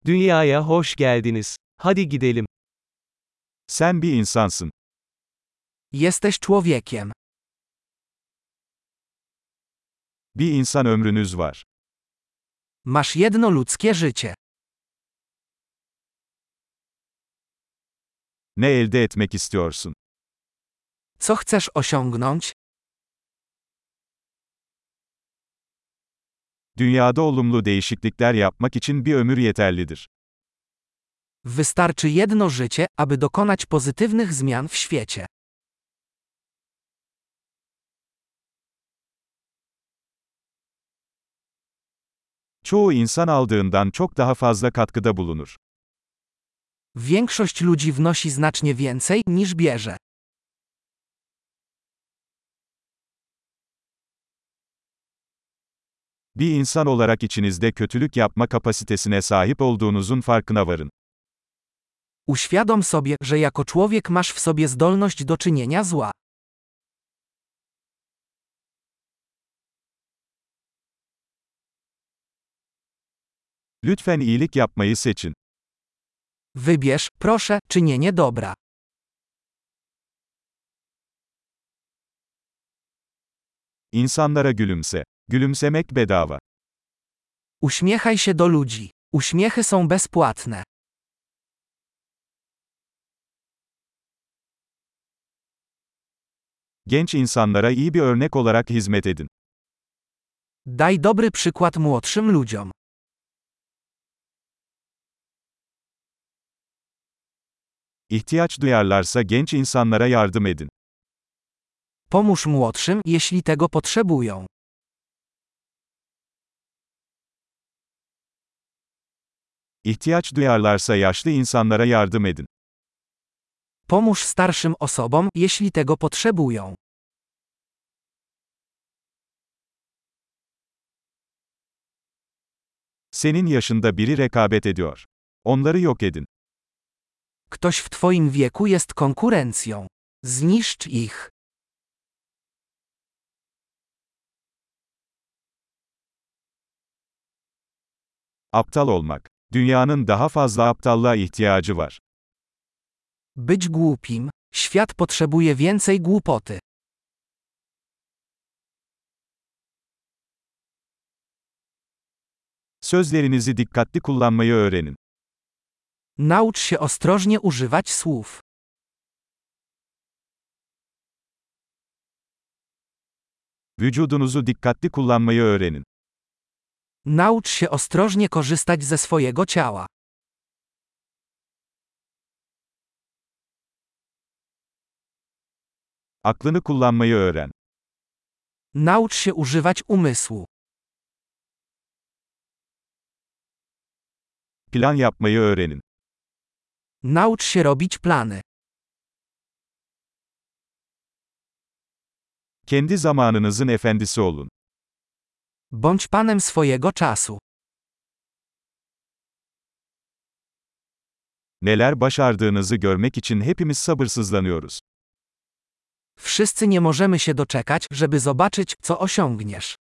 Dünyaya hoş geldiniz. Hadi gidelim. Sen bir insansın. Jesteś człowiekiem. Bir insan ömrünüz var. Masz jedno ludzkie życie. Ne elde etmek istiyorsun? Co chcesz osiągnąć? Dünyada olumlu değişiklikler yapmak için bir ömür yeterlidir. Wystarczy jedno życie, aby dokonać pozytywnych zmian w świecie. Çoğu insan aldığından çok daha fazla katkıda bulunur. Większość ludzi wnosi znacznie więcej, niż bierze. Bir insan olarak içinizde kötülük yapma kapasitesine sahip olduğunuzun farkına varın. Uświadom sobie, że jako człowiek masz w sobie zdolność do czynienia zła. Lütfen iyilik yapmayı seçin. Wybierz, proszę, czynienie dobra. İnsanlara gülümse. Gülümsemek bedava. Uśmiechaj się do ludzi. Uśmiechy są bezpłatne. Genç insanlara iyi bir örnek olarak hizmet edin. Daj dobry przykład młodszym ludziom. İhtiyaç duyarlarsa genç insanlara yardım edin. Pomóż młodszym, jeśli tego potrzebują. İhtiyaç duyarlarsa yaşlı insanlara yardım edin. Pomóż starszym osobom, jeśli tego potrzebują. Senin yaşında biri rekabet ediyor. Onları yok edin. Ktoś w twoim wieku jest konkurencją. Zniszcz ich. Aptal olmak. Dünyanın daha fazla aptallığa ihtiyacı var. Być głupim. Świat potrzebuje więcej głupoty. Sözlerinizi dikkatli kullanmayı öğrenin. Naucz się ostrożnie używać słów. Vücudunuzu dikkatli kullanmayı öğrenin. Naucz się ostrożnie korzystać ze swojego ciała. Aklını kullanmayı öğren. Naucz się używać umysłu. Plan yapmayı öğrenin. Naucz się robić plany. Kendi zamanınızın efendisi olun. Bądź panem swojego czasu. Neler başardığınızı görmek için hepimiz sabırsızlanıyoruz. Wszyscy nie możemy się doczekać, żeby zobaczyć, co osiągniesz.